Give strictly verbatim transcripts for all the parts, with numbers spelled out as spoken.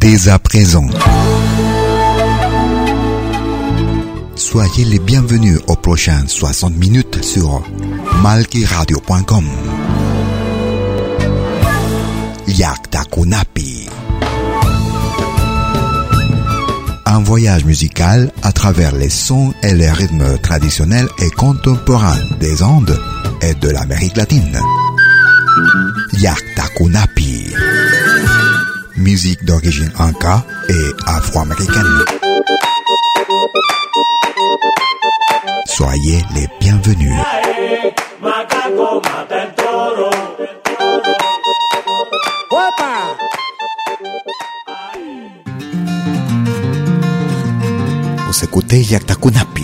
dès à présent. Soyez les bienvenus aux prochaines soixante minutes sur malkiradio point com. Yakta Kunapi. Un voyage musical à travers les sons et les rythmes traditionnels et contemporains des Andes et de l'Amérique latine. Yakta Kunapi. Musique d'origine inca et afro-américaine. Soyez les bienvenus. Vous écoutez Yakta Kunapi.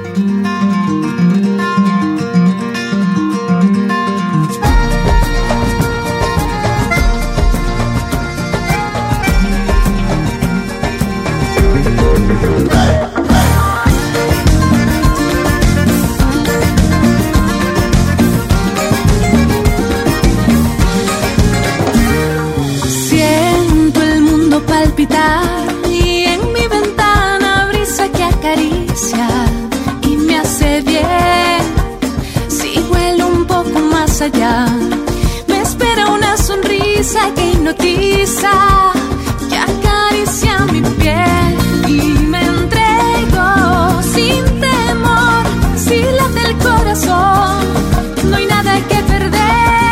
Siento el mundo palpitar y en mi ventana brisa que acaricia y me hace bien. Si vuelo un poco más allá, me espera una sonrisa que hipnotiza, que acaricia mi piel y me entrego sin temor. Si late el corazón, no hay nada que perder.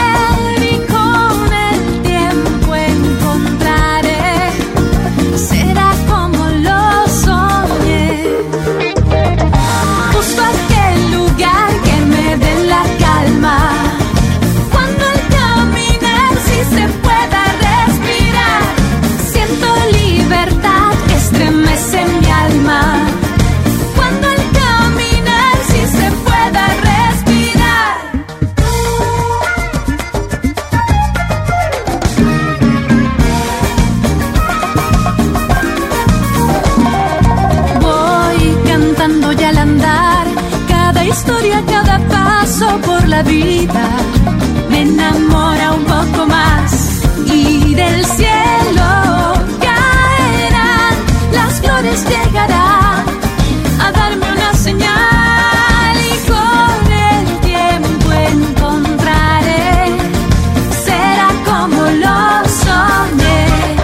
Historia, cada paso por la vida me enamora un poco más y del cielo caerán las flores, llegarán a darme una señal y con el tiempo encontraré, será como lo soñé.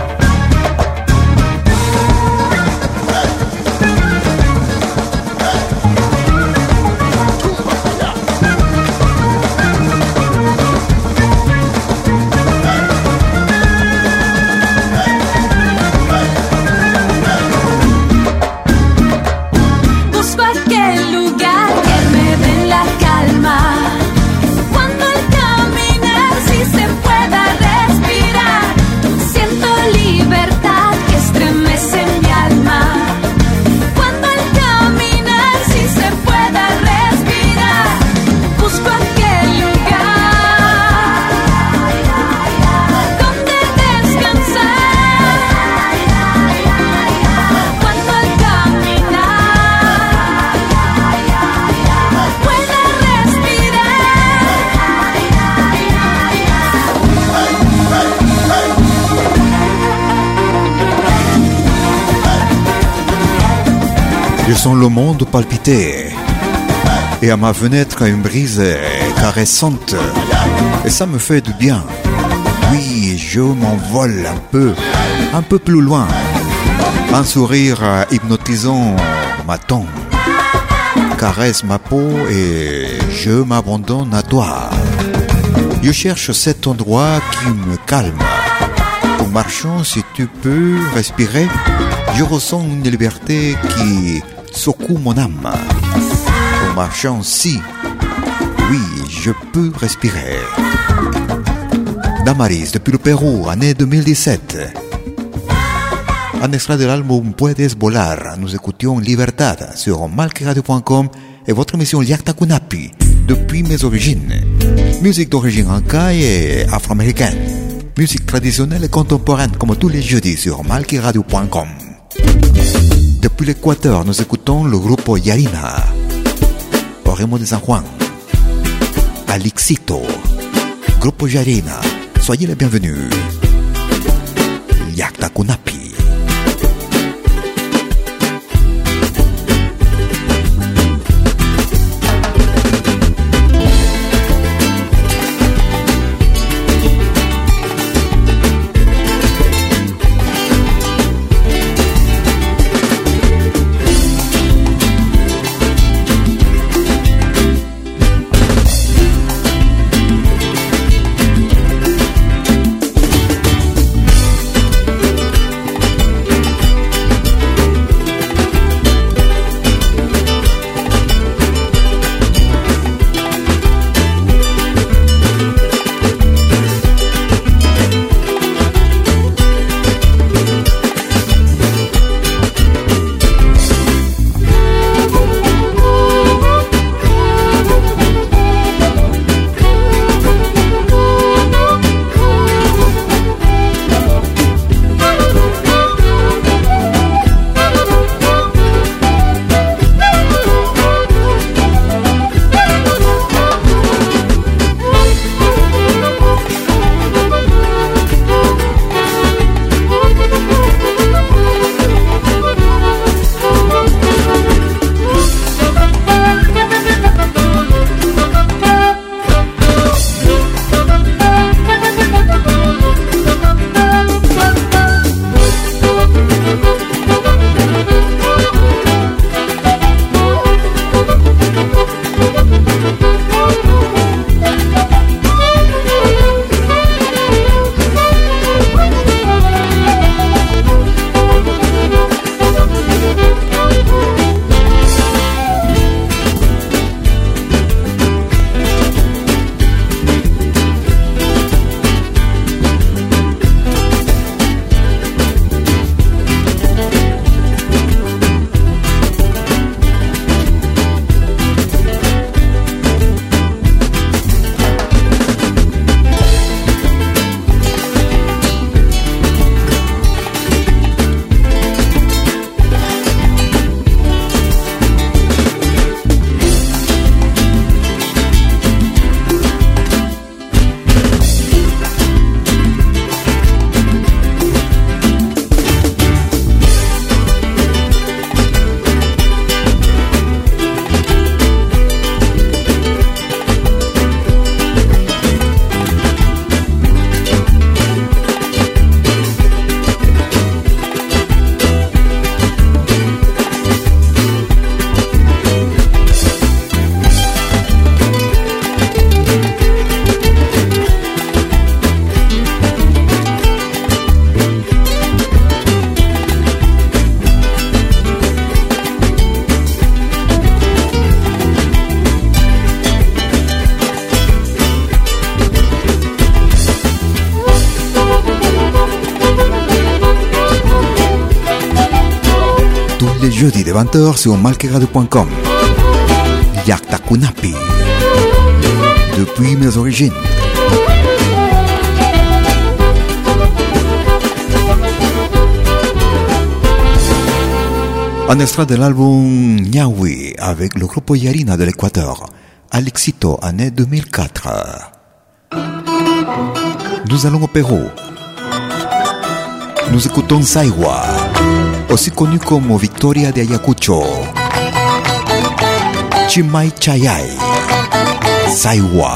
Je sens le monde palpiter et à ma fenêtre une brise caressante et ça me fait du bien. Oui, je m'envole un peu, un peu plus loin. Un sourire hypnotisant m'attend, caresse ma peau et je m'abandonne à toi. Je cherche cet endroit qui me calme. En marchant, si tu peux respirer, je ressens une liberté qui secoue mon âme. En marchant, si, oui, je peux respirer. Damaris, depuis le Pérou, année deux mille dix-sept. Un extrait de l'album Puedes Volar. Nous écoutions Libertad sur malkiradio point com et votre émission Yakta Kunapi, depuis mes origines. Musique d'origine inca et afro-américaine. Musique traditionnelle et contemporaine comme tous les jeudis sur malkiradio point com. Depuis l'Équateur, nous écoutons le groupe Yarina. Oremo de San Juan. Alixito. Groupe Yarina. Soyez les bienvenus. Yakta Kunapi. jeudi de vingt heures sur malquerado point com. Yakta Kunapi, depuis mes origines. Un extrait de l'album Niawi avec le groupe Yarina de l'Équateur, Al Éxito, année deux mille quatre. Nous allons au Pérou. Nous écoutons Saiwa, aussi connu comme Victoria de Ayacucho. Chimay Chayay, Saiwa,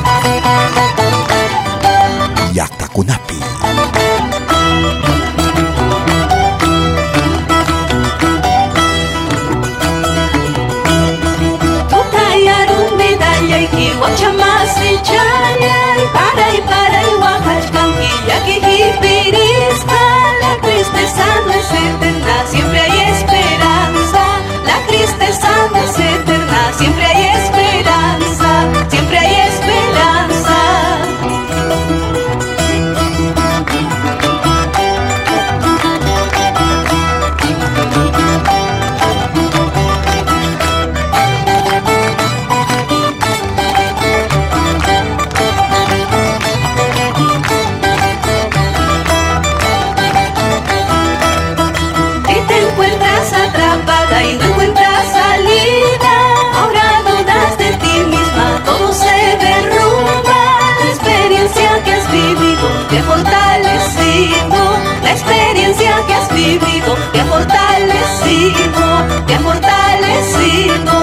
Yakta Kunapi. Guachamasi chayay, para y para y Oaxaca, que jipirisca, la tristeza no es eterna, siempre hay esperanza, la tristeza no es eterna, siempre hay esperanza, siempre hay esperanza. Te ha fortalecido, la experiencia que has vivido, te ha fortalecido, te ha fortalecido.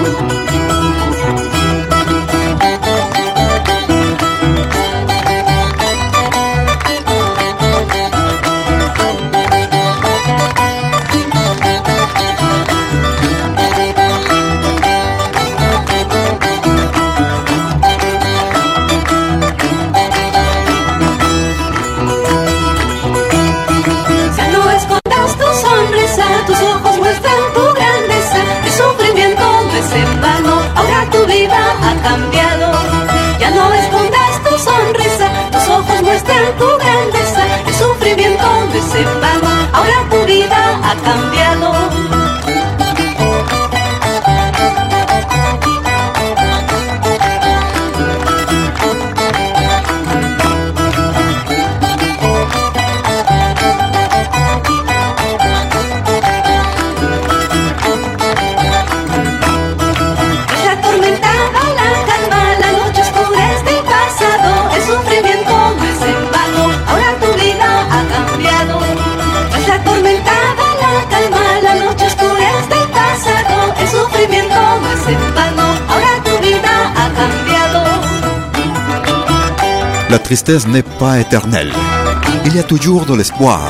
Tu grandeza, el sufrimiento no es en vano, ahora tu vida ha cambiado. La tristesse n'est pas éternelle. Il y a toujours de l'espoir.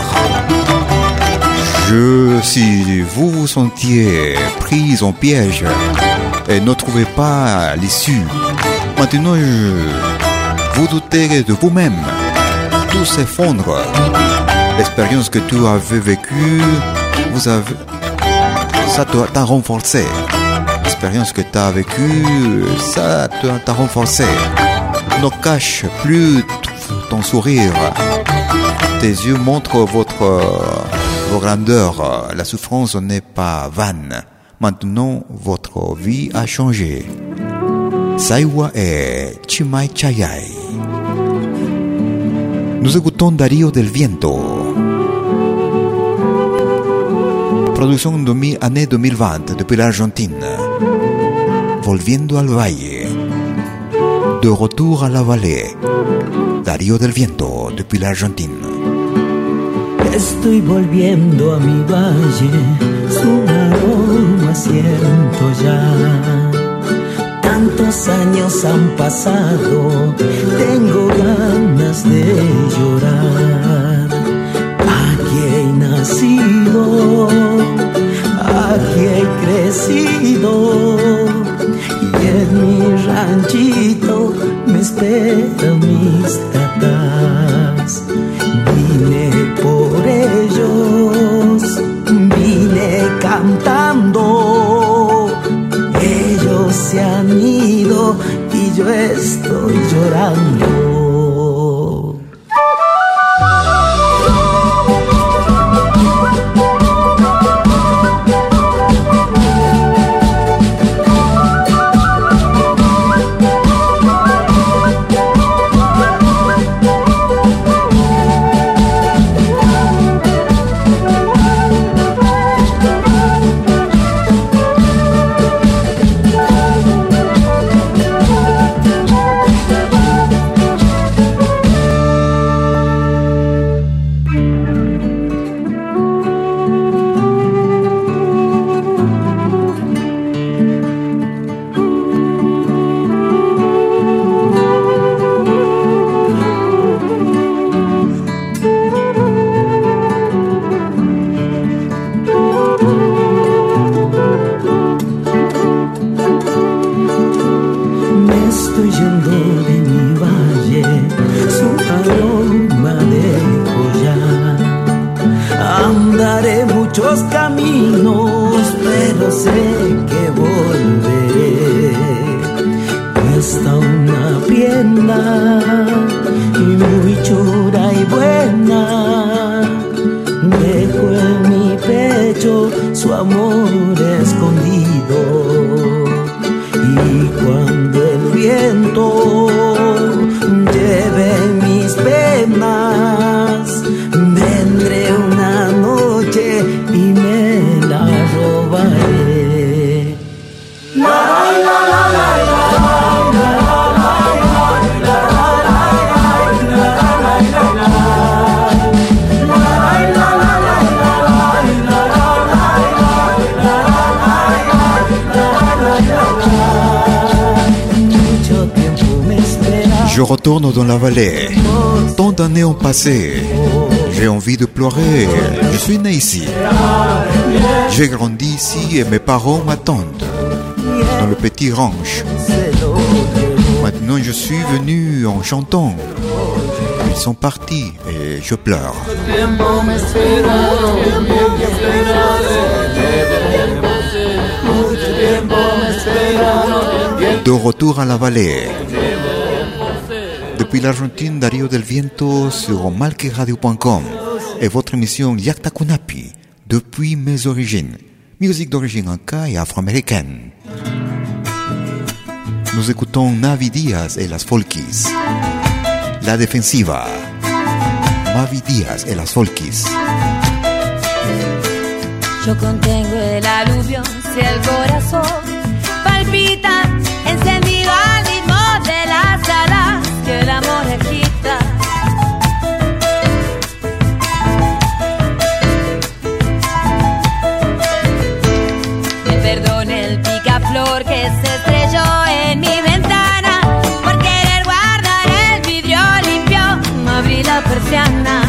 Je, si vous vous sentiez pris en piège et ne trouvez pas l'issue, maintenant je, vous doutez de vous-même. Tout s'effondre. L'expérience que tu avais vécue, vous avez, ça t'a renforcé. L'expérience que tu as vécue, ça t'a renforcé. Ne cache plus ton sourire. Tes yeux montrent votre, votre grandeur. La souffrance n'est pas vaine. Maintenant, votre vie a changé. Saiwa et Chimay Chayay. Nous écoutons Darío del Viento. Production de année deux mille vingt depuis l'Argentine. Volviendo al Valle. De retour à la vallée, Darío del Viento, depuis l'Argentine. Estoy volviendo a mi valle, su aroma siento ya. Tantos años han pasado, tengo ganas de llorar. Aquí he nacido, aquí he crecido. Y en mi ranchito me esperan mis tatas. Vine por ellos, vine cantando. Ellos se han ido y yo estoy llorando. muchos caminos, pero sé que volveré. Cuesta una pierna y muy chura y buena. Dejo en mi pecho su amor escondido. Y cuando el viento lleve mis penas, vendré una noche y me la robaré. La, la, la, la, la. Je retourne dans la vallée. Tant d'années ont passé. J'ai envie de pleurer. Je suis né ici. J'ai grandi ici et mes parents m'attendent dans le petit ranch. Maintenant je suis venu en chantant. Ils sont partis et je pleure. De retour à la vallée. Depuis l'Argentine, Darío del Viento sur malquiradio point com et votre émission Yakta Kunapi, depuis mes origines, musique d'origine inca et afro-américaine. Nous écoutons Navi Díaz et las Folkies, La Defensiva, Navi Díaz et las Folkies. Yo contengo el aluvión si el corazón palpita, encendido al ritmo de las alas que el amor agita. Me perdone el picaflor que se estrelló en mi ventana por querer guardar el vidrio limpio, no abrí la persiana.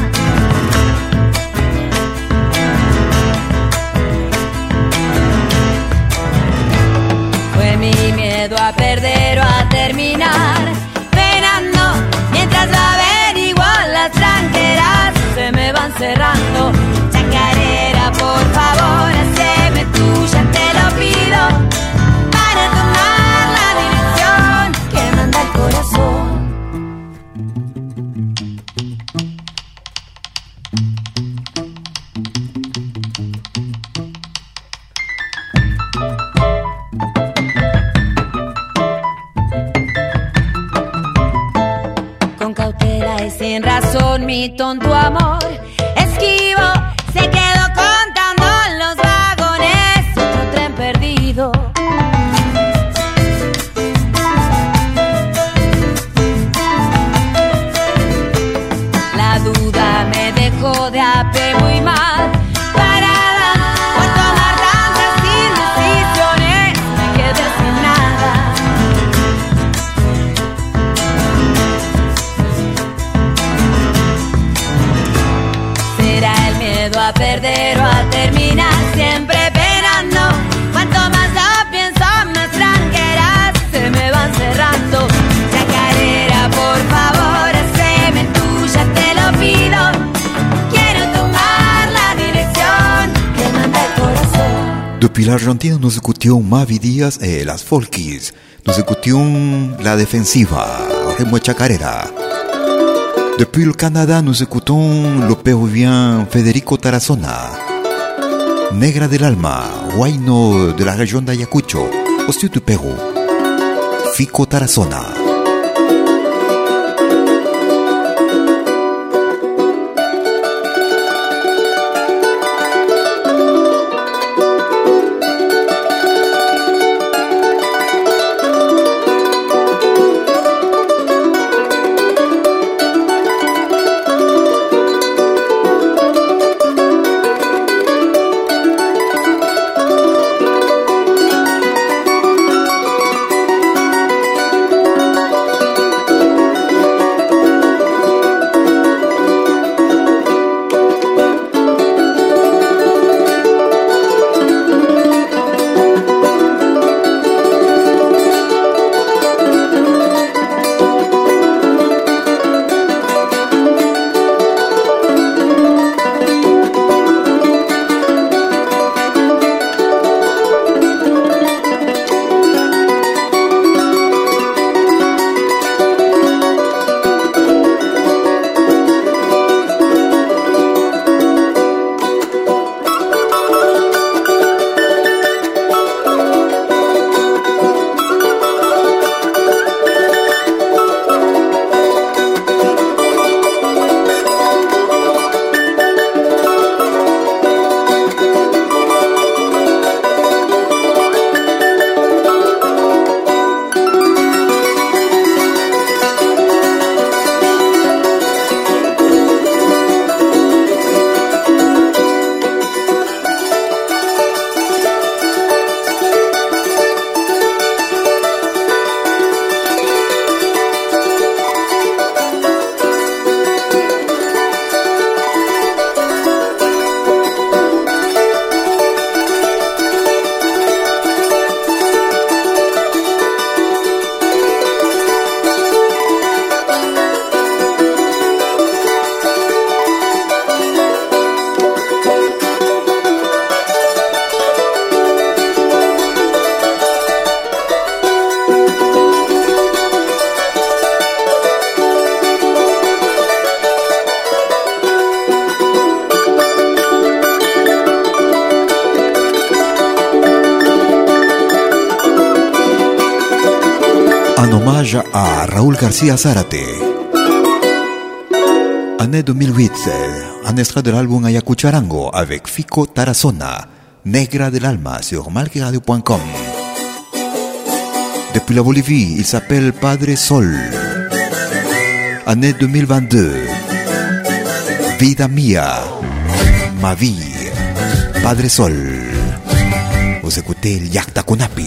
Fue mi miedo a perder o a terminar penando, mientras averiguo las tranqueras se me van cerrando. Chacarera, por favor, haceme tuya, te lo pido, para tomar la dirección que manda el corazón. Sin razón mi tonto amor esquivo se quedó contando los vagones, otro tren perdido. La duda me dejó de a pie muy mal parada por tomar tantas indecisiones, me quedé sin nada. A perder o a terminar siempre penando. Cuanto más lo pienso, más tranqueras se me van cerrando. Chacarera, por favor, haceme tuya, te lo pido. Quiero tomar la dirección que manda el corazón. Depuis l'Argentine, nous écoutions Mavi Díaz et las Folkies. Nous écoutions La Defensiva, ritmo chacarera. Depuis le Canada, nous écoutons le péruvien Federico Tarazona, Negra del Alma, huayno de la région d'Ayacucho, au sud du Pérou, Fico Tarazona. en hommage à Raúl García Zárate. Année deux mille huit, un extrait de l'album Ayacucharango avec Fico Tarazona, Negra del Alma sur malquiradio point com. Depuis la Bolivie, il s'appelle Padre Sol. Année deux mille vingt-deux, Vida Mía, Ma Vie, Padre Sol. Vous écoutez el Yacta Kunapi.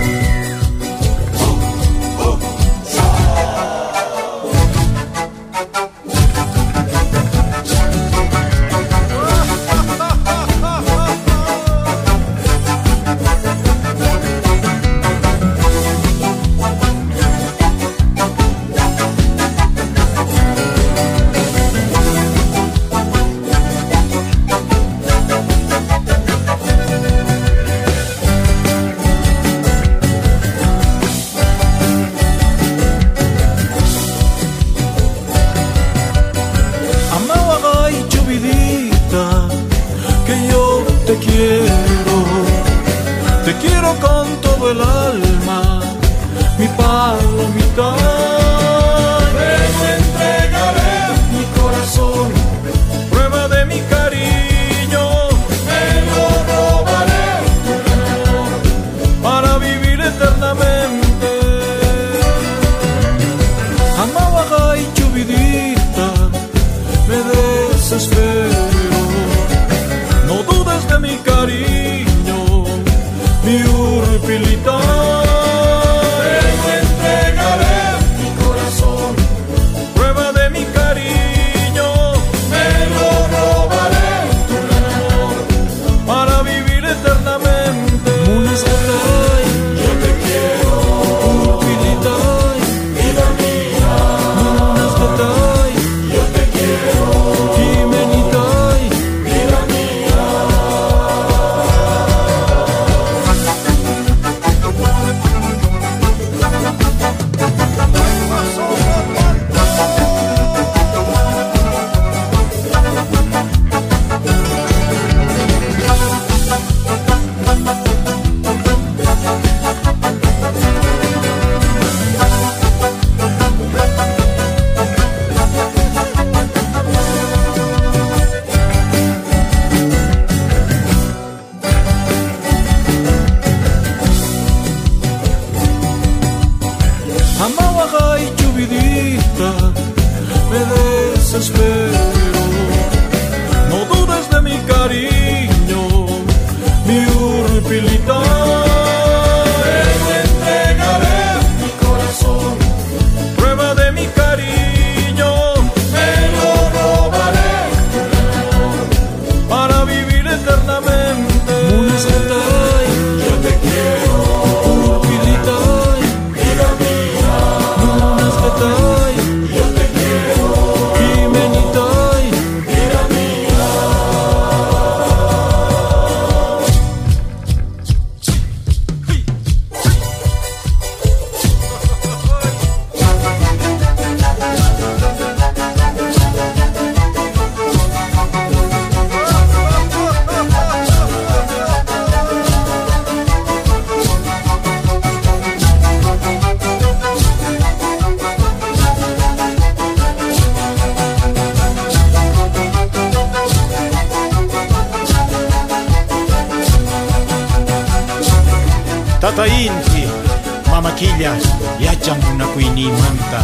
Tata inti, mama quilla, yacham una kuini manta,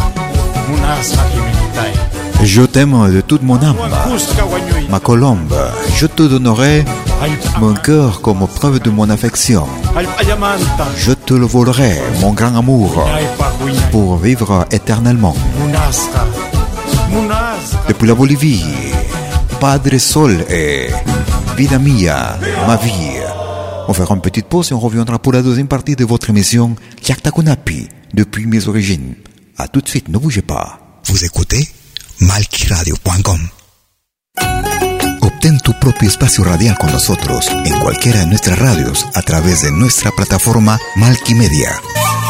munas hakiminitai. Je t'aime de toute mon âme, ma colombe. Je te donnerai mon cœur comme preuve de mon affection. Je te le volerai, mon grand amour, pour vivre éternellement. Depuis la Bolivie, Padre Sol et Vida Mía, Ma Vie. On fera une petite pause et on reviendra pour la deuxième partie de votre émission Yacta Kunapi, depuis mes origines. A tout de suite, ne bougez pas. Vous écoutez malquiradio punto com. Obtén tu propio espacio radial con nosotros en cualquiera de nuestras radios a través de nuestra plataforma Malquimedia.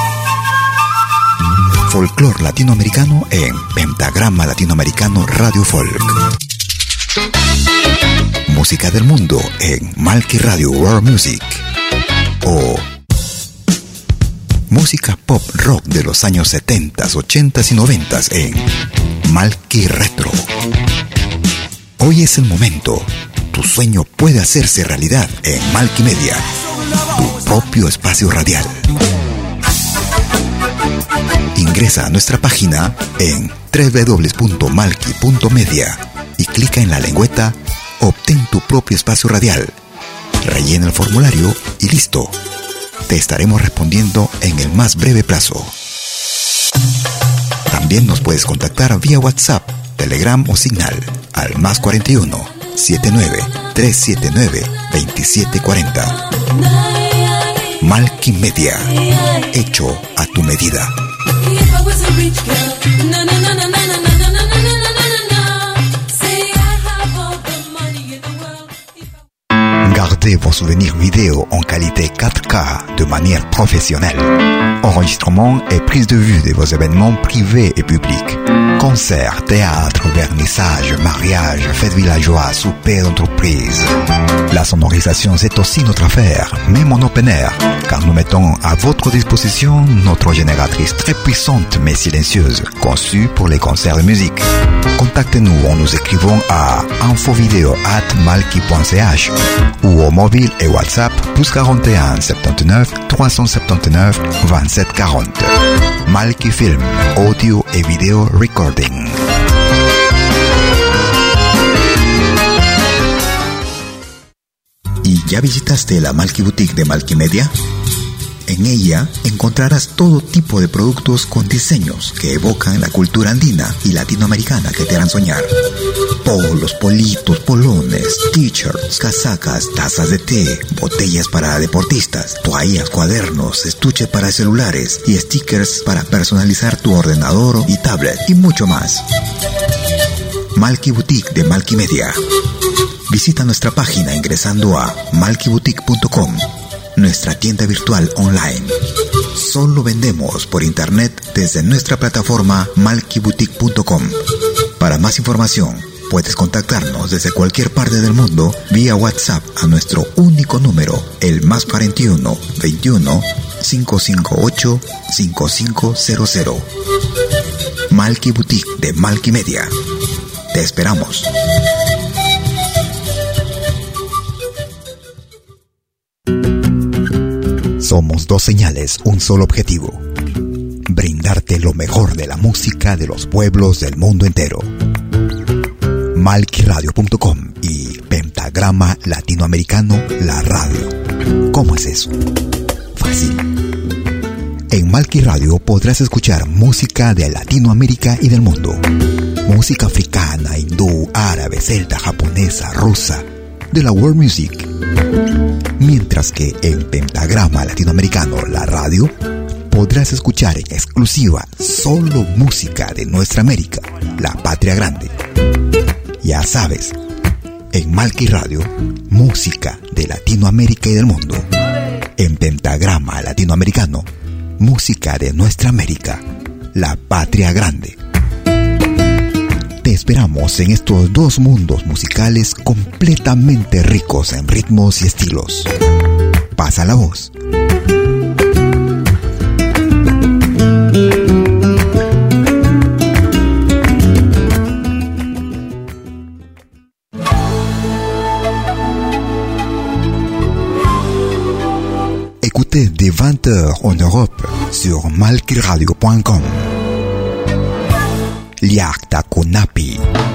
Folclor latinoamericano en Pentagrama Latinoamericano Radio Folk. Música del mundo en Malqui Radio World Music. O música pop rock de los años setenta, ochenta y noventa en Malki Retro. Hoy es el momento. Tu sueño puede hacerse realidad en Malki Media, tu propio espacio radial. Ingresa a nuestra página en doble u doble u doble u punto malki punto media y clica en la lengüeta Obtén tu propio espacio radial. Rellena el formulario y listo. Te estaremos respondiendo en el más breve plazo. También nos puedes contactar vía WhatsApp, Telegram o Signal al más cuarenta y uno, setenta y nueve, trescientos setenta y nueve, veintisiete cuarenta. Malki Media, hecho a tu medida. Gardez vos souvenirs vidéo en qualité quatre K de manière professionnelle. Enregistrement et prise de vue de vos événements privés et publics. Concerts, théâtre, vernissage, mariage, fêtes villageois, souper d'entreprise. La sonorisation, c'est aussi notre affaire, même en open air, car nous mettons à votre disposition notre génératrice très puissante mais silencieuse, conçue pour les concerts de musique. Contactez-nous en nous écrivant à infovideo arobase malki punto c h ou au mobile et WhatsApp plus quarante et un, soixante-dix-neuf, trois cent soixante-dix-neuf, vingt-sept quarante. Malki Film, audio et vidéo recording. ¿Y ya visitaste la Malki Boutique de Malki Media? En ella encontrarás todo tipo de productos con diseños que evocan la cultura andina y latinoamericana que te harán soñar. Polos, politos, polones, t-shirts, casacas, tazas de té, botellas para deportistas, toallas, cuadernos, estuches para celulares y stickers para personalizar tu ordenador y tablet y mucho más. Malki Boutique de Malki Media. Visita nuestra página ingresando a malki boutique punto com. Nuestra tienda virtual online. Solo vendemos por internet desde nuestra plataforma malki boutique punto com. Para más información, puedes contactarnos desde cualquier parte del mundo vía WhatsApp a nuestro único número, el más cuarenta y uno, veintiuno, quinientos cincuenta y ocho, cincuenta y cinco cero cero. Malki Boutique de Malki Media. Te esperamos. Somos dos señales, un solo objetivo. Brindarte lo mejor de la música de los pueblos del mundo entero. malki radio punto com y Pentagrama Latinoamericano, la radio. ¿Cómo es eso? Fácil. En Malki Radio podrás escuchar música de Latinoamérica y del mundo. Música africana, hindú, árabe, celta, japonesa, rusa, de la world music. Mientras que en Pentagrama Latinoamericano, la radio, podrás escuchar en exclusiva solo música de nuestra América, la patria grande. Ya sabes, en Malki Radio, música de Latinoamérica y del mundo. En Pentagrama Latinoamericano, música de nuestra América, la patria grande. Te esperamos en estos dos mundos musicales completamente ricos en ritmos y estilos. Pasa la voz. Écoutez dès vingt heures en Europe sur malki radio punto com. Liakta Kunapi.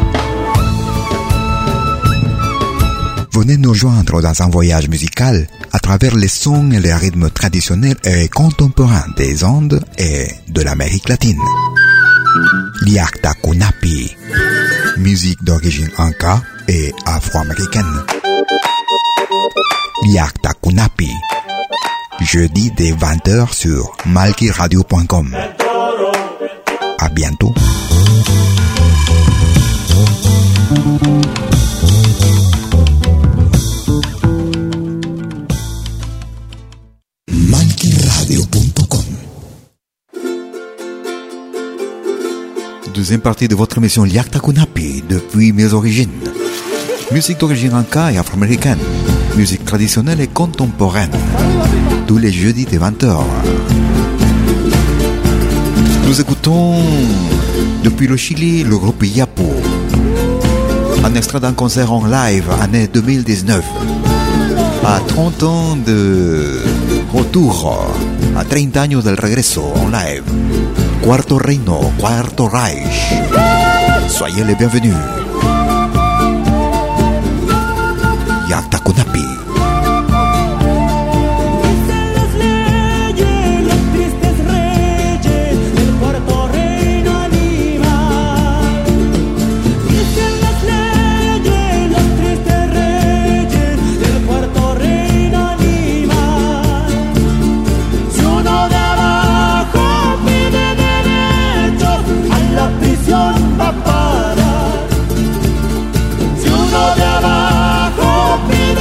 Venez nous joindre dans un voyage musical à travers les sons et les rythmes traditionnels et contemporains des Andes et de l'Amérique latine. Liakta Kunapi. Musique d'origine inca et afro-américaine. Liakta Kunapi. Jeudi dès vingt heures sur malki radio punto com. À bientôt. malki radio punto com. Deuxième partie de votre émission Liakta Kunapi depuis mes origines. Musique d'origine inca et afro-américaine. Musique traditionnelle et contemporaine. Tous les jeudis dès vingt heures. Nous écoutons depuis le Chili le groupe Yapo. Un extrait d'un concert en live, année deux mille dix-neuf. À trente ans de retour, a treinta años del regreso en live. Cuarto Reino, Cuarto Reich. Soyez les bienvenus. Yatakunapi. Va a parar. Si uno de abajo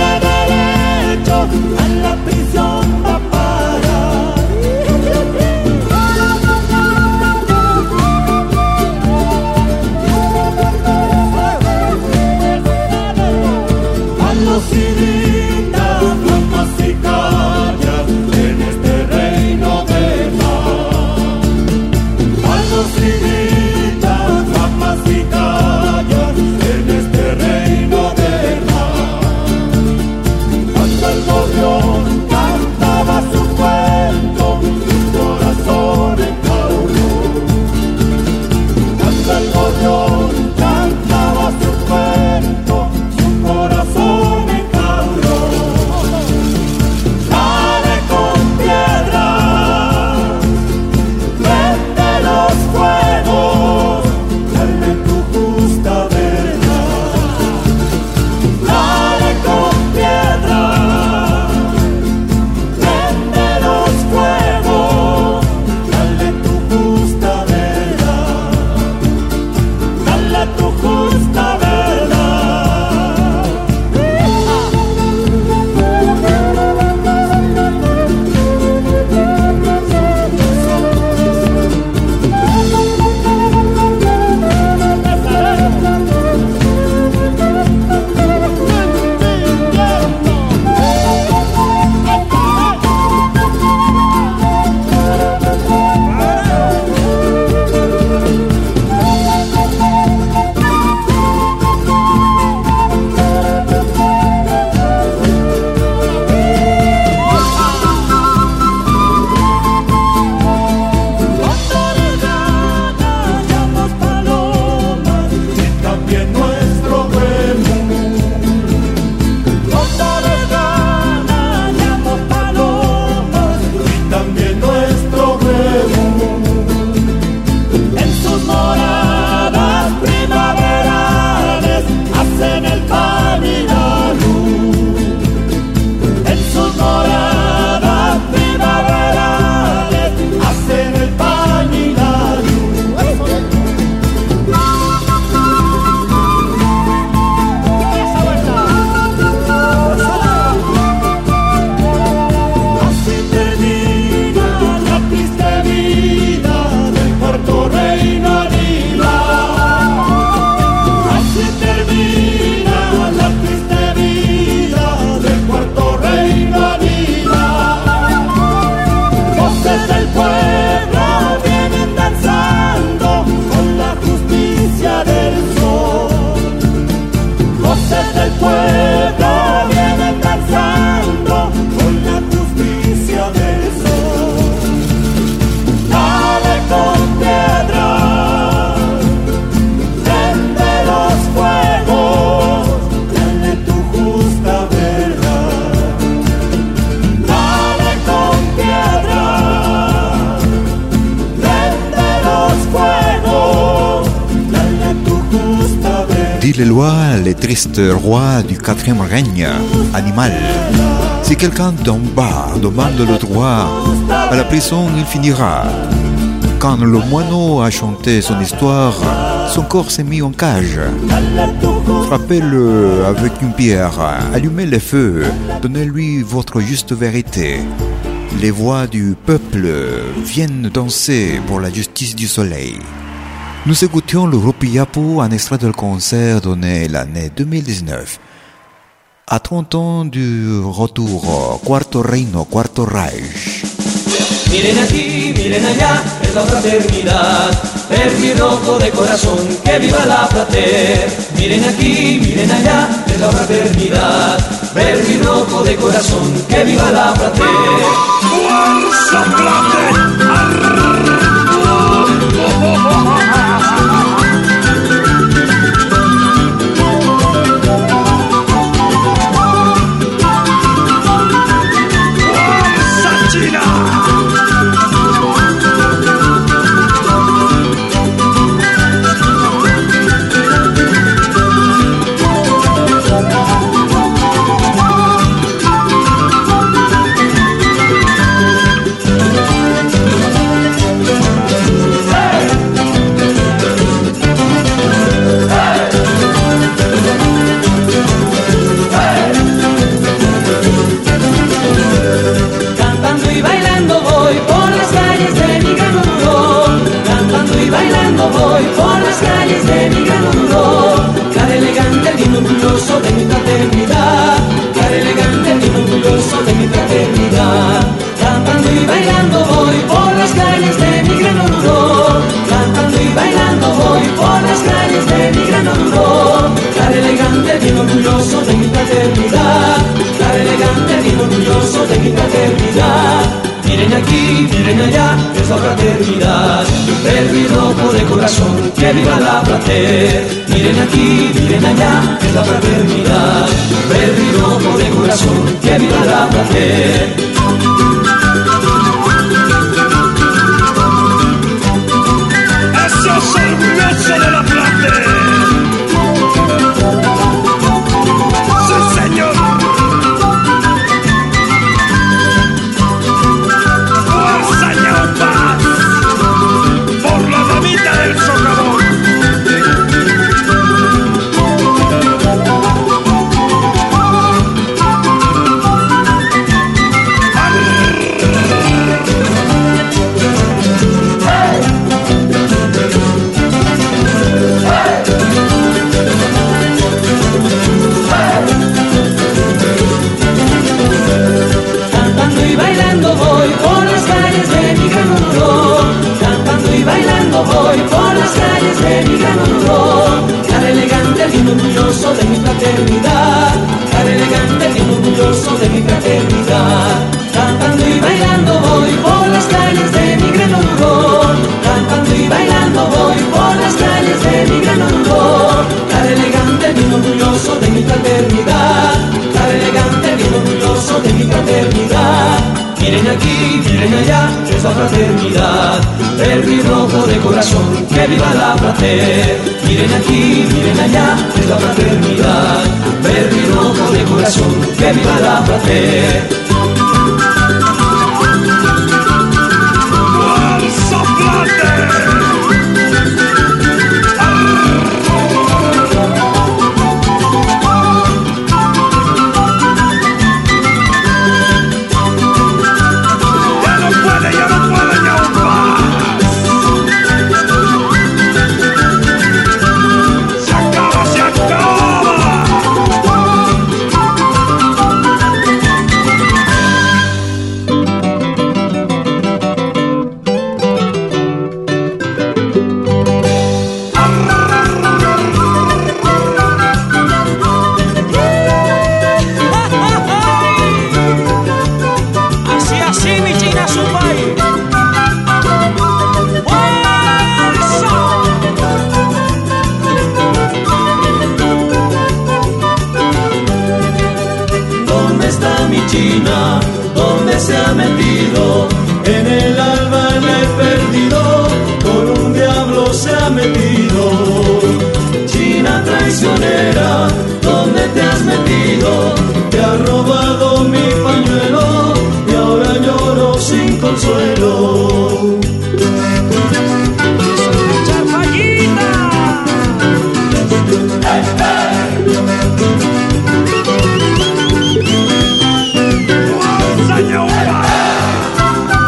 dit les lois, les tristes rois du quatrième règne animal. Si quelqu'un d'en bas demande le droit à la prison, il finira. Quand le moineau a chanté son histoire, son corps s'est mis en cage. Frappez-le avec une pierre, allumez les feux, donnez-lui votre juste vérité. Les voix du peuple viennent danser pour la justice du soleil. Nous écoutions le groupe Yapo, un extrait du concert donné l'année deux mille dix-neuf. À trente ans du retour, Cuarto Reino, Cuarto Reich. Miren aquí, miren allá, es la fraternidad. Verde y rojo de corazón, que viva la frater. Miren aquí, miren allá, es la fraternidad. Verde y rojo de corazón, que viva la frater. ¡Fuerza, frater! Miren aquí, miren allá, es la fraternidad. Verde y rojo de corazón, que viva la frater. Miren aquí, miren allá, es la fraternidad. Verde y rojo de corazón, que viva la frater. ¡Eso es orgulloso de la frater! ¡Sí, señor! Por la damita del socavón. Cantando y bailando voy por las calles de mi gran honor. Cantando y bailando voy por las calles de mi gran honor. Cara elegante, bien orgulloso de mi fraternidad. Cara elegante, bien orgulloso de mi fraternidad. Cantando y bailando voy por las calles de mi gran honor. Cantando y bailando voy por las calles de mi gran honor. Cara elegante, bien orgulloso de mi fraternidad. Cara elegante, bien orgulloso de mi fraternidad. Miren aquí, miren allá, es la fraternidad. Verde y rojo de corazón, que viva la frater. Miren aquí, miren allá, es la fraternidad. Verde y rojo de corazón, que viva la frater. ¡Fuerza, frater! ¿Dónde se ha metido? En el alba la he perdido, con un diablo se ha metido. China traicionera, ¿dónde te has metido? Te ha robado mi pañuelo y ahora lloro sin consuelo. ¡Señor!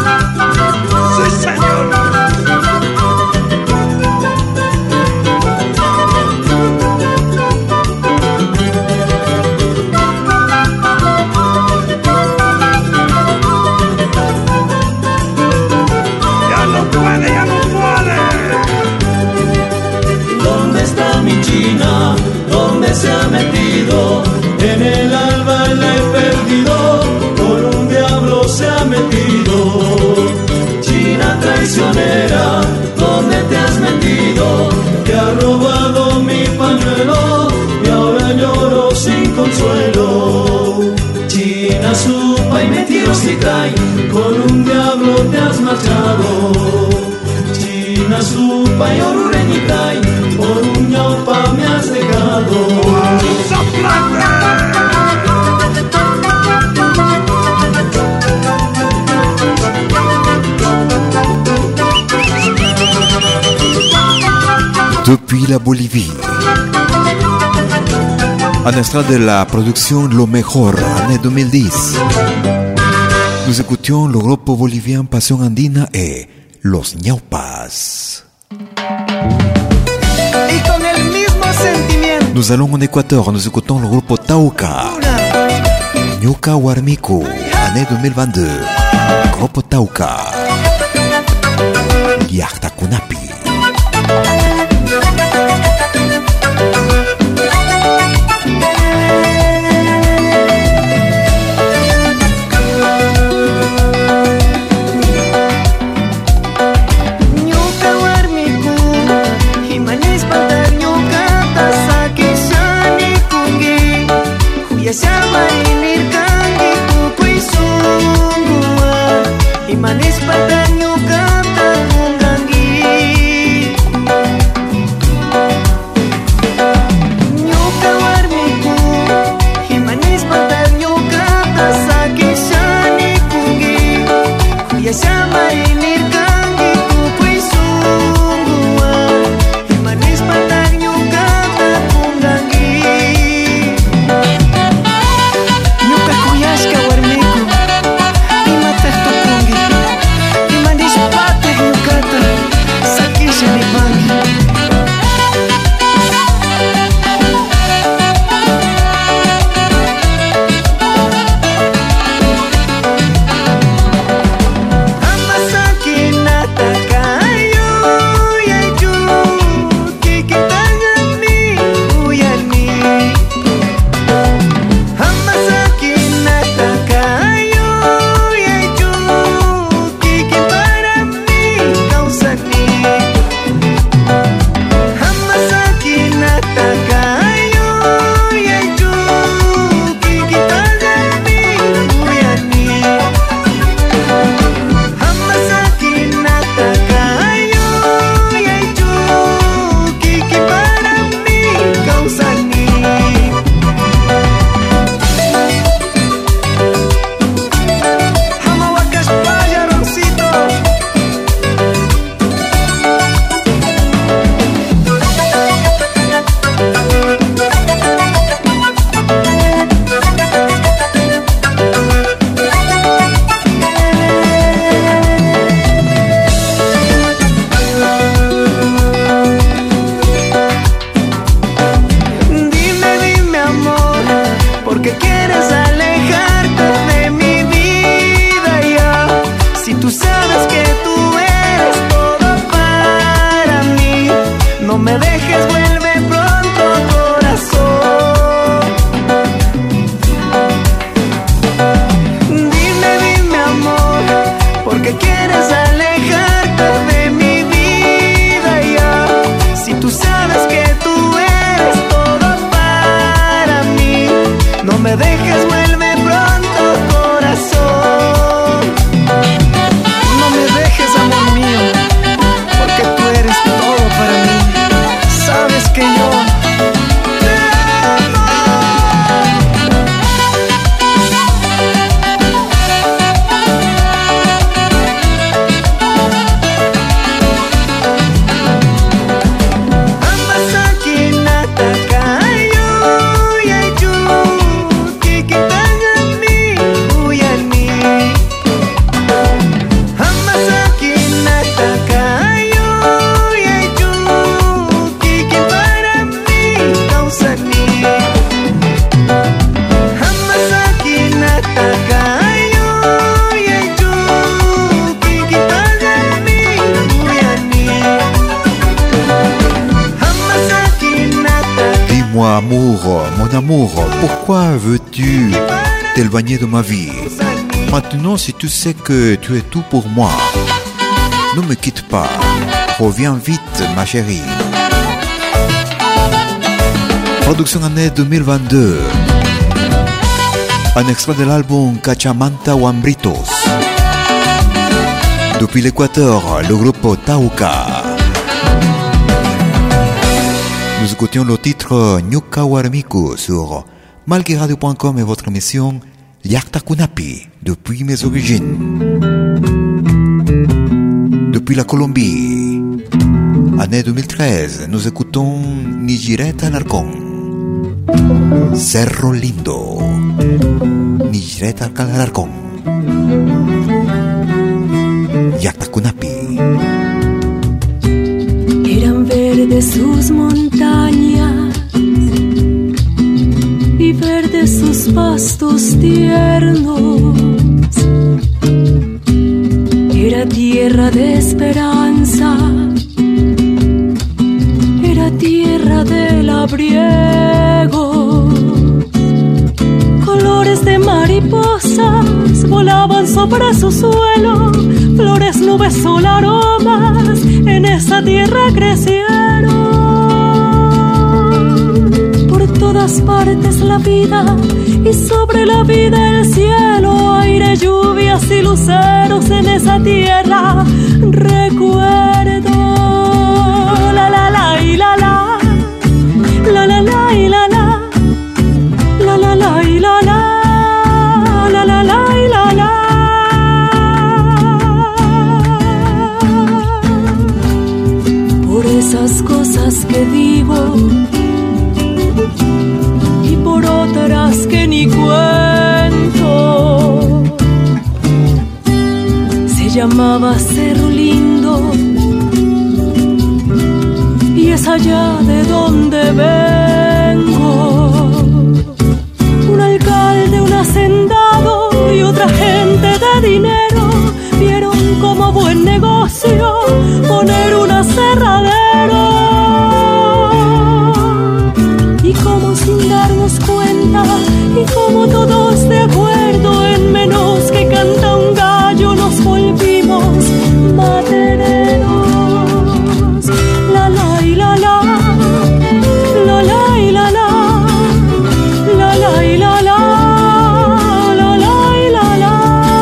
en el alba la he perdido, con un diablo se ha metido. China traicionera, ¿dónde te has metido? Te ha robado mi pañuelo y ahora lloro sin consuelo. China supa y metido si trae, con un diablo te has marchado. China supa y orureñi trae, por un ñopa me has dejado. Depuis la Bolivie, un extrait de la production Lo Mejor, année deux mille dix. Nous écoutions le groupe bolivien Pasión Andina et Los Ñaupas. Y con el mismo sentimiento. Nous allons en Équateur, nous écoutons le groupe Tauca, Ñuka Warmiku, année deux mille vingt-deux. Groupe Tauca, Yachta Kunapi. Manis patanya kata munggangi Nyuka warmiku Himanis patanya kata sakishani kungi Ya sama inir kangi kukui sungguwa Himanis patanya kata munggangi Nyuka kuyaska warmiku Imatah tukungi Pourquoi veux-tu t'éloigner de ma vie? Maintenant, si tu sais que tu es tout pour moi, ne me quitte pas. Reviens vite, ma chérie. Production année deux mille vingt-deux. Un extrait de l'album Cachamanta Huambritos. Depuis l'Équateur, le groupe Tauca. Nous écoutions le titre Ñuka Huarmiku sur malki radio point com et votre émission Llaqta Kunapi, depuis mes origines. Depuis la Colombie, année deux mille treize, nous écoutons Nijireta Alarcón, Cerro Lindo, Nijireta Alarcón, Llaqta Kunapi. Eran verdes sus montañas y verdes sus pastos tiernos. Era tierra de esperanza, era tierra de labriego. Colores de mariposas volaban sobre su suelo, flores, nubes, sol, aromas, en esa tierra crecieron. Por todas partes la vida, y sobre la vida el cielo, aire, lluvias y luceros en esa tierra. Recuerdo la la la y la la, la la la y la la, la la la y la la, la la la y la la. Por esas cosas que digo y por otras que ni cuento, se llamaba Cerro Lindo y es allá de donde vengo. Un alcalde, un hacendado y otra gente de dinero vieron como buen negocio poner un aserradero. Y como sin darnos cuenta, y como todos de acuerdo, en menos que canta un gallo nos volvimos madereros. La la y la la, la la y la la, la la y la la, la la y la la.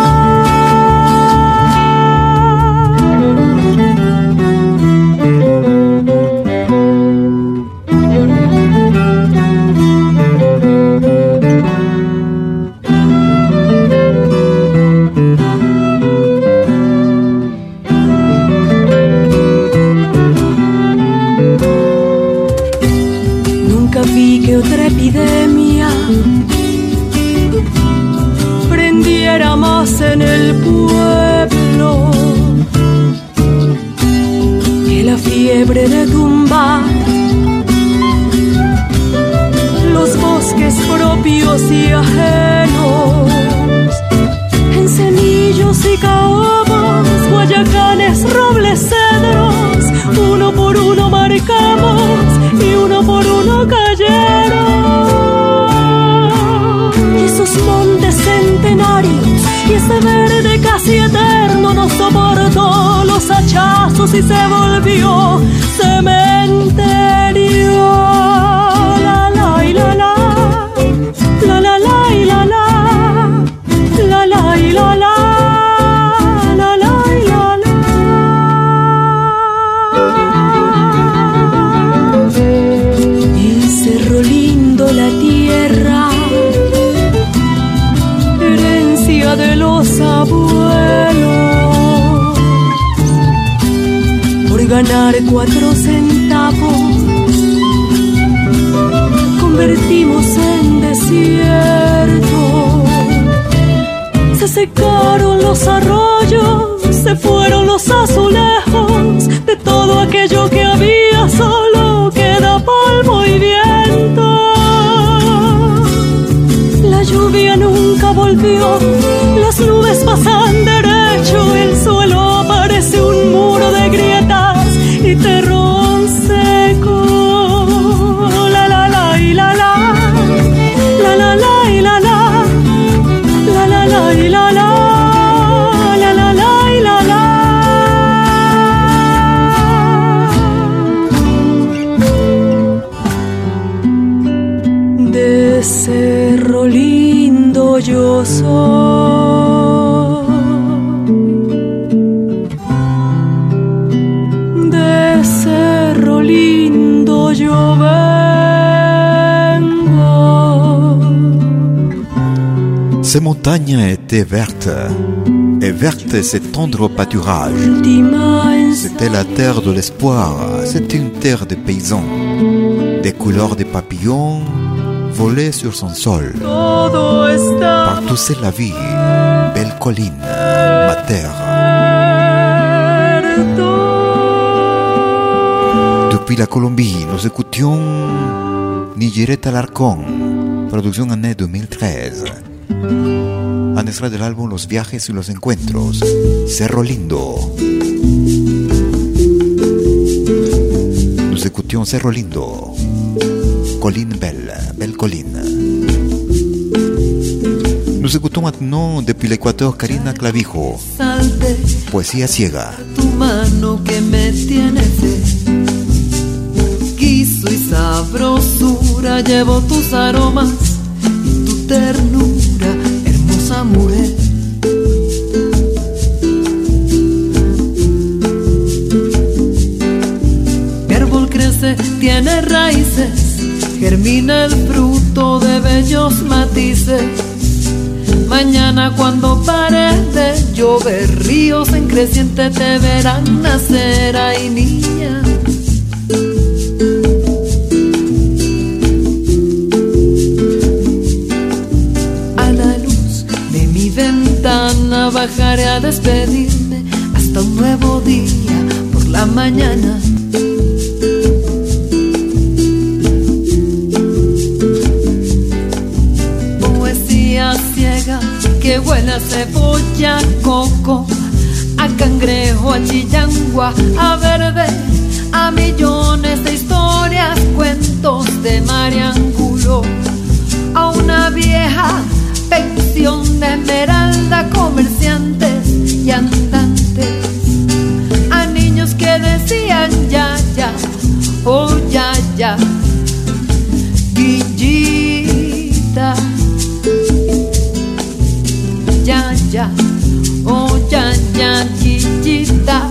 Nunca vi que otra epidemia prendiera más en el pueblo que la fiebre de tumbar los bosques propios y ajenos. En cenillos y caobos, guayacanes, robles, cedros, uno por uno marcamos y uno por uno cayeron. Y esos montes centenarios y ese verde casi eterno no soportó los hachazos y se volvió cementerio. La la y la la, la la la y la la, la la y la la, la la y la la. Y Cerro Lindo, la tierra, herencia de los abuelos. Por ganar cuatro centavos convertimos en desierto. Se secaron los arroyos, se fueron los azulejos, de todo aquello que había solo queda polvo y viento. La lluvia nunca volvió, las nubes pasan derecho, el suelo parece un muro de grietas y terrón seco. La la la y la la, la Cerro Lindo yo soy, de Cerro Lindo yo vengo. Ces montagnes étaient vertes, et verte ces tendres pâturages. C'était la terre de l'espoir, c'était une terre de paysans, des couleurs de papillons volés sur son sol. Partout c'est la vie, belle colline, ma terre. Depuis la Colombie, nous écoutions Nigireta Alarcón, producción année deux mille treize. Un extra del álbum Los Viajes y los Encuentros, Cerro Lindo. Nous écoutions Cerro Lindo, colline belle, belle colline. Nous écoutons maintenant depuis l'Équateur Karina Clavijo, Poesía Ciega. Tu mano que me tiene fe, guiso y sabrosura, llevo tus aromas y tu ternura, hermosa mujer. Mi árbol crece, tiene raíces, germina el fruto de bellos matices. Mañana cuando pare de llover, ríos en creciente te verán nacer, ay niña. A la luz de mi ventana bajaré a despedirme hasta un nuevo día por la mañana. Que huele a cebolla, coco, a cangrejo, a chillangua, a verde, a millones de historias, cuentos de Mariangulo, a una vieja pensión de esmeralda, comerciantes y andantes, a niños que decían ya, ya, oh ya, ya, Guillita. Ya, ya, oh ya, ya, chichita.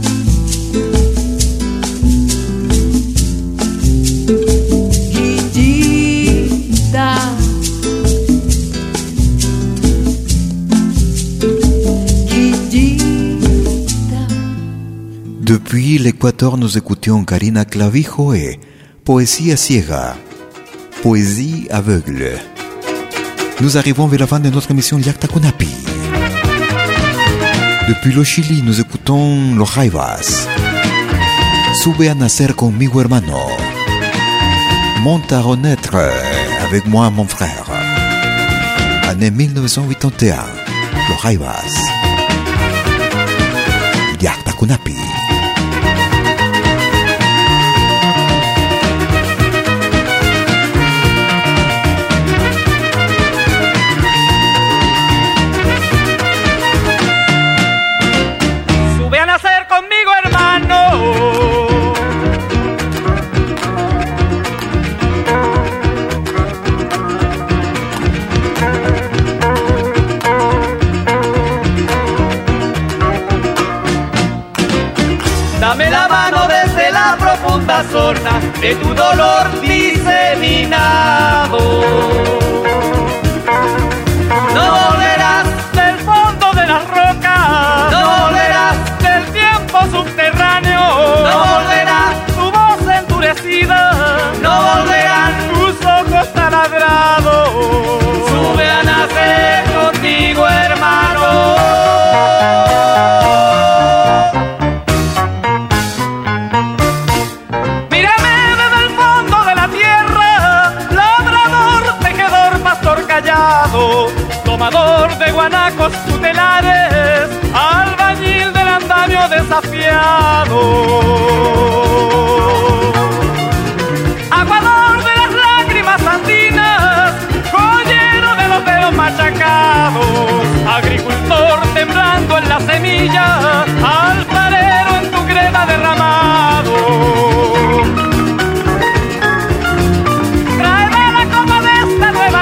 Guillita. Guillita. Depuis l'Équateur, nous écoutions Karina Clavijo et Poesía Ciega, poésie aveugle. Nous arrivons vers la fin de notre émission Llacta Kunapi. Depuis le Chili, nous écoutons Los Jaivas. Sube a nacer conmigo hermano. Monte à renaître avec moi mon frère. Année mille neuf cent quatre-vingt-un. Los Jaivas. Llacta Kunapi. Dame la mano desde la profunda zona de tu dolor diseminado. No volverás del fondo de las rocas, no volverás del tiempo subterráneo, no volverás tu voz endurecida, no volverán tus ojos taladrados. Sube a nacer contigo, hermano. Tomador de guanacos tutelares, albañil del andamio desafiado, aguador de las lágrimas andinas, joyero de los dedos machacados, agricultor temblando en la semilla, alfarero en tu greda derramado. Tráeme la copa de esta nueva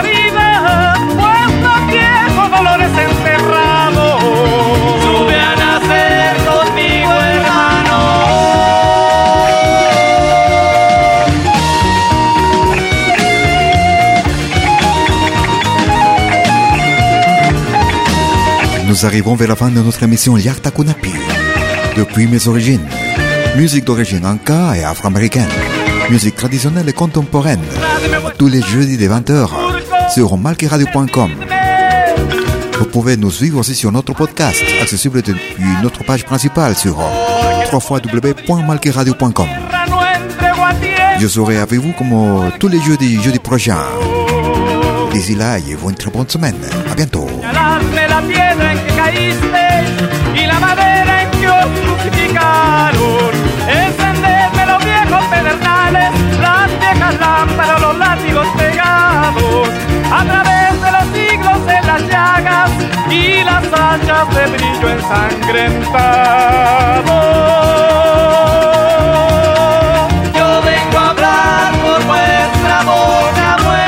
nous arrivons vers la fin de notre émission Yakta Kunapi. Depuis mes origines, musique d'origine anka et afro-américaine, musique traditionnelle et contemporaine, tous les jeudis de vingt heures sur malki radio point com. Vous pouvez nous suivre aussi sur notre podcast, accessible depuis notre page principale sur w w w point malki radio point com. Je serai avec vous comme tous les jeudis, jeudi prochain. D'ici là, ayez-vous une très bonne semaine. À bientôt. La piedra en que caíste y la madera en que os crucificaron, encenderme los viejos pedernales, las viejas lámparas, los látigos pegados, a través de los siglos en las llagas y las hachas de brillo ensangrentado. Yo vengo a hablar por vuestra boca muerta.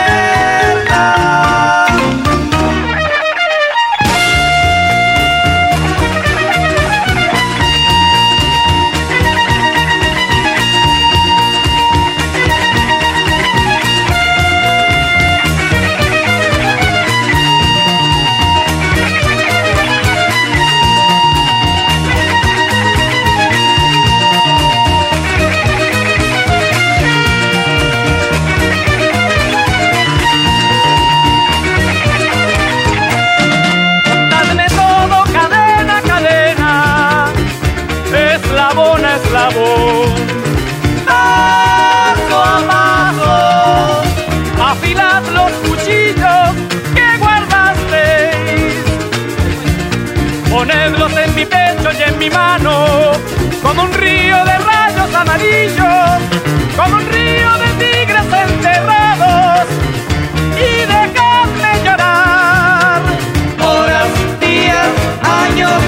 Eslabón, paso a paso, afilad los cuchillos que guardasteis, ponedlos en mi pecho y en mi mano, como un río de rayos amarillos, como un río de tigres enterrados, y dejadme llorar, horas, días, años,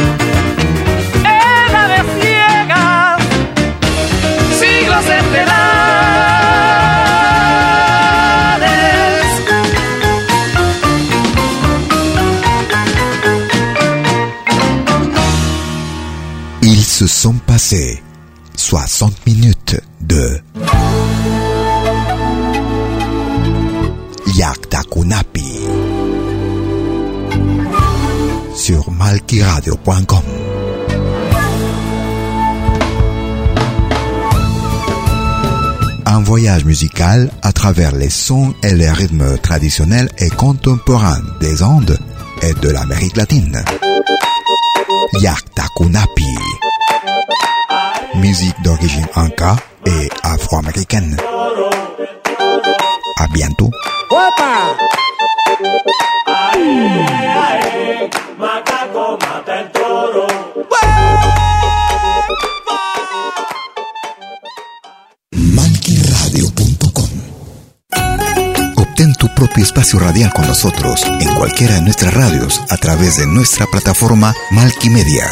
Ils se sont passés soixante minutes de Yakta Kunapi sur malki radio point com. Un voyage musical à travers les sons et les rythmes traditionnels et contemporains des Andes et de l'Amérique latine. Yakta Kunapi. Musique d'origine inca et afro-américaine. À bientôt. malki radio punto com. Obtén tu propio espacio radial con nosotros en cualquiera de nuestras radios a través de nuestra plataforma Malki Media.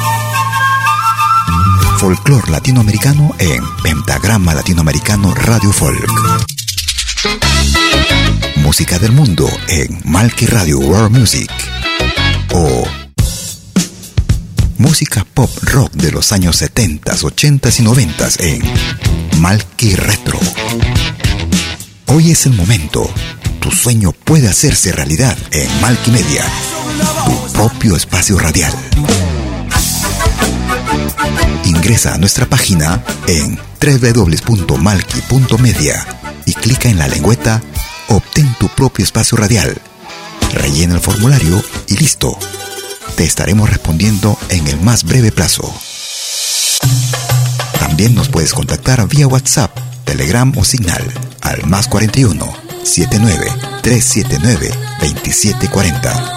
Folclor latinoamericano en Pentagrama Latinoamericano Radio Folk. Música del mundo en Malki Radio World Music. O música pop rock de los años setenta, ochenta y noventa en Malki Retro. Hoy es el momento. Tu sueño puede hacerse realidad en Malki Media, tu propio espacio radial. Ingresa a nuestra página en w w w punto malki punto media y clica en la lengüeta Obtén tu propio espacio radial. Rellena el formulario y listo. Te estaremos respondiendo en el más breve plazo. También nos puedes contactar vía WhatsApp, Telegram o Signal al más cuarenta y uno, setenta y nueve, trescientos setenta y nueve, veintisiete cuarenta.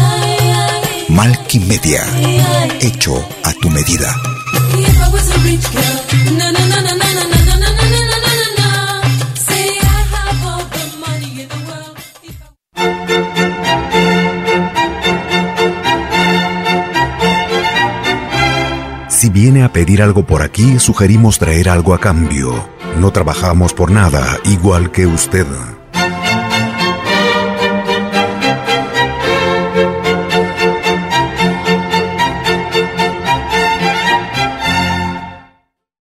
Malki Media, hecho a tu medida. Si viene a pedir algo por aquí, sugerimos traer algo a cambio. No trabajamos por nada, igual que usted.